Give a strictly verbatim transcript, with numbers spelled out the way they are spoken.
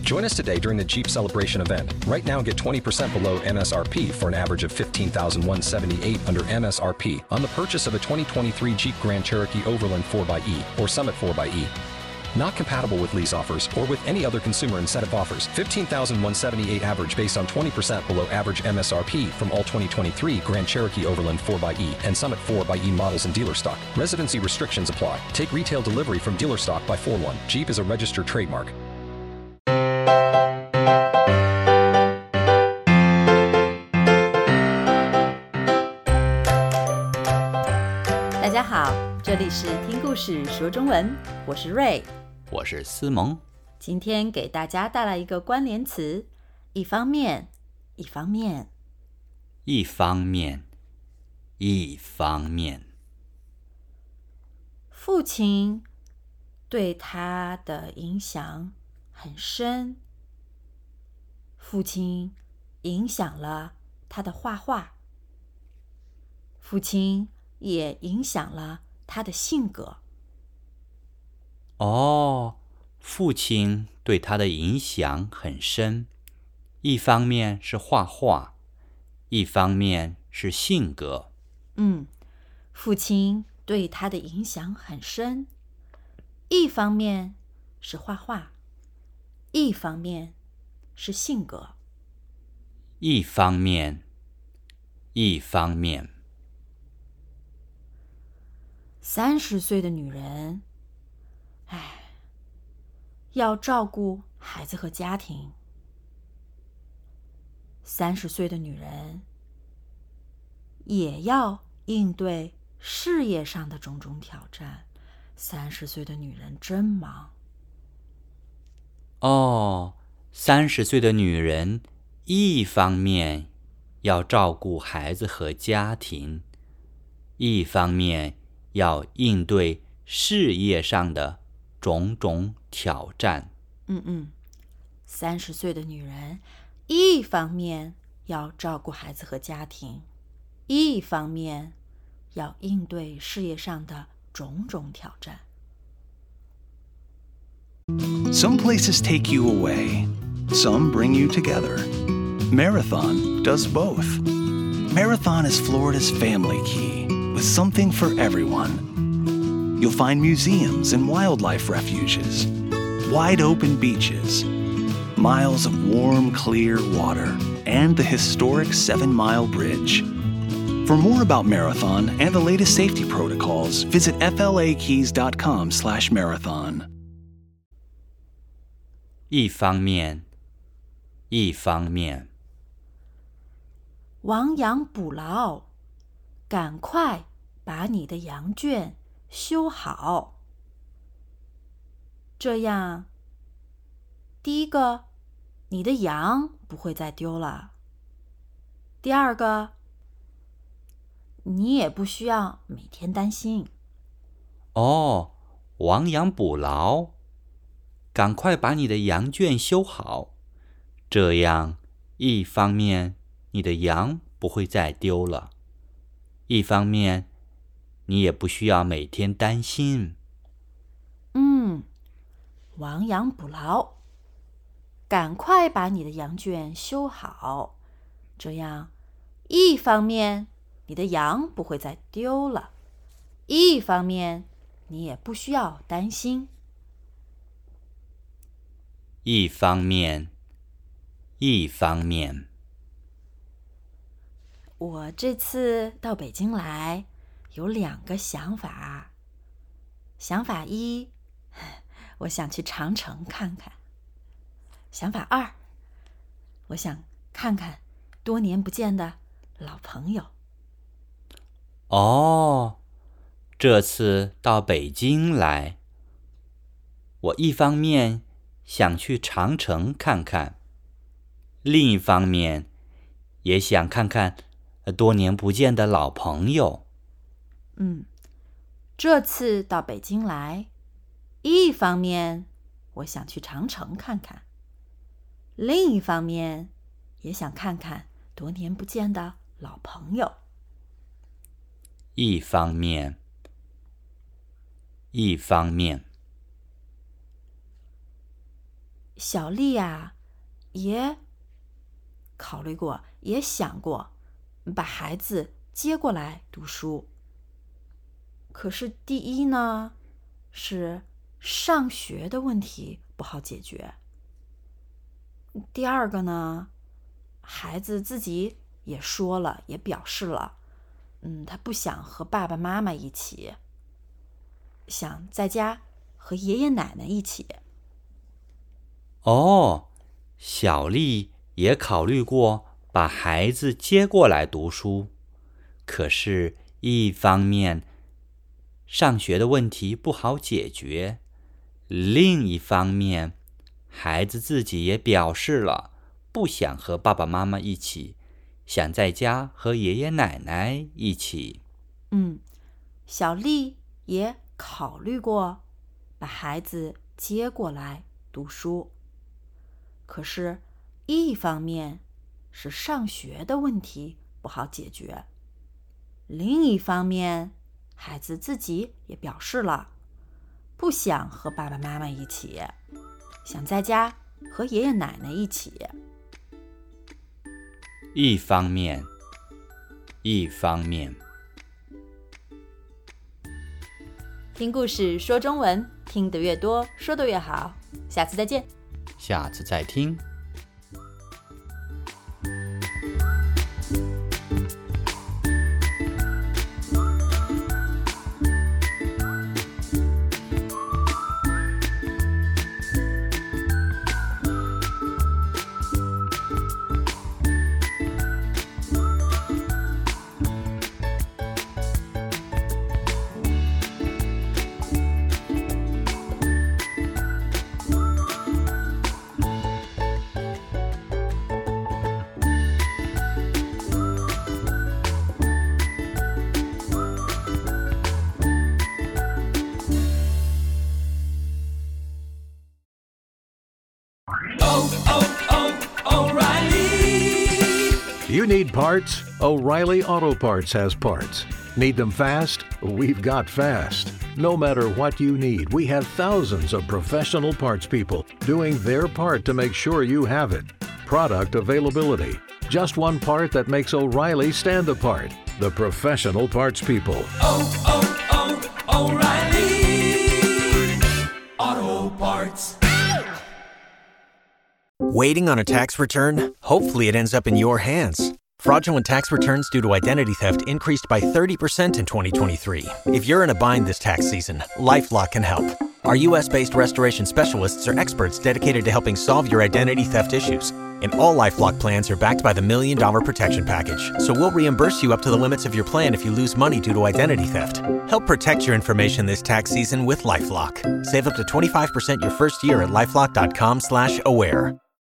Join us today during the Jeep Celebration event. Right now, get twenty percent below M S R P for an average of fifteen thousand one hundred seventy-eight dollars under M S R P on the purchase of a twenty twenty-three Jeep Grand Cherokee Overland four by E or Summit four by E. Not compatible with lease offers or with any other consumer incentive offers. fifteen thousand one hundred seventy-eight dollars average based on twenty percent below average M S R P from all twenty twenty-three Grand Cherokee Overland four by E and Summit four by E models in dealer stock. Residency restrictions apply. Take retail delivery from dealer stock by four one. Jeep is a registered trademark. 大家好，这里是听故事说中文，我是瑞， 我是思萌。 今天给大家带来一个关联词，一方面，一方面， 一方面，一方面。 父亲对他的影响很深，父亲影响了他的画画，父亲也影响了他的性格。 哦，父亲对他的影响很深，一方面是画画，一方面是性格。 嗯，父亲对他的影响很深，一方面是画画，一方面是性格。 一方面，一方面。 三十岁的女人，唉，要照顾孩子和家庭。三十岁的女人，也要应对事业上的种种挑战。三十岁的女人真忙。 哦，三十岁的女人，一方面要照顾孩子和家庭，一方面要应对事业上的种种挑战。 嗯嗯，三十岁的女人，一方面要照顾孩子和家庭，一方面要应对事业上的种种挑战。 Some places take you away, some bring you together. Marathon does both. Marathon is Florida's family key, with something for everyone. You'll find museums and wildlife refuges, wide open beaches, miles of warm, clear water, and the historic Seven Mile Bridge. For more about Marathon and the latest safety protocols, visit f l a keys dot com slash marathon. 一方面，一方面。 亡羊补牢，赶快把你的羊圈修好。这样，第一个，你的羊不会再丢了；第二个，你也不需要每天担心。 哦，亡羊补牢，赶快把你的羊圈修好。这样，一方面你的羊不会再丢了，一方面你也不需要每天担心。 嗯，亡羊补牢，赶快把你的羊圈修好。这样，一方面你的羊不会再丢了，一方面你也不需要担心。 一方面，一方面。 我这次到北京来，有两个想法。想法一，我想去长城看看。想法二，我想看看多年不见的老朋友。 哦，这次到北京来，我一方面想去长城看看，另一方面也想看看多年不见的老朋友。 嗯，这次到北京来，一方面我想去长城看看，另一方面也想看看多年不见的老朋友。 一方面，一方面。 小丽呀，也考虑过，也想过把孩子接过来读书。可是第一呢，是上学的问题不好解决。第二个呢，孩子自己也说了，也表示了，嗯，他不想和爸爸妈妈一起，想在家和爷爷奶奶一起。 哦，小丽也考虑过把孩子接过来读书，可是一方面上学的问题不好解决，另一方面孩子自己也表示了不想和爸爸妈妈一起，想在家和爷爷奶奶一起。 嗯，小丽也考虑过把孩子接过来读书，可是一方面是上学的问题不好解决，另一方面孩子自己也表示了不想和爸爸妈妈一起，想在家和爷爷奶奶一起。 一方面，一方面。 听故事说中文，听得越多，说得越好。下次再见。 下次再听。 You need parts? O'Reilly Auto Parts has parts. Need them fast? We've got fast. No matter what you need, we have thousands of professional parts people doing their part to make sure you have it. Product availability. Just one part that makes O'Reilly stand apart. The professional parts people. Oh, oh, oh, O'Reilly Auto Parts. Waiting on a tax return? Hopefully it ends up in your hands. Fraudulent tax returns due to identity theft increased by thirty percent in twenty twenty-three. If you're in a bind this tax season, LifeLock can help. Our U S-based restoration specialists are experts dedicated to helping solve your identity theft issues. And all LifeLock plans are backed by the Million Dollar Protection Package. So we'll reimburse you up to the limits of your plan if you lose money due to identity theft. Help protect your information this tax season with LifeLock. Save up to twenty-five percent your first year at LifeLock dot com slash aware.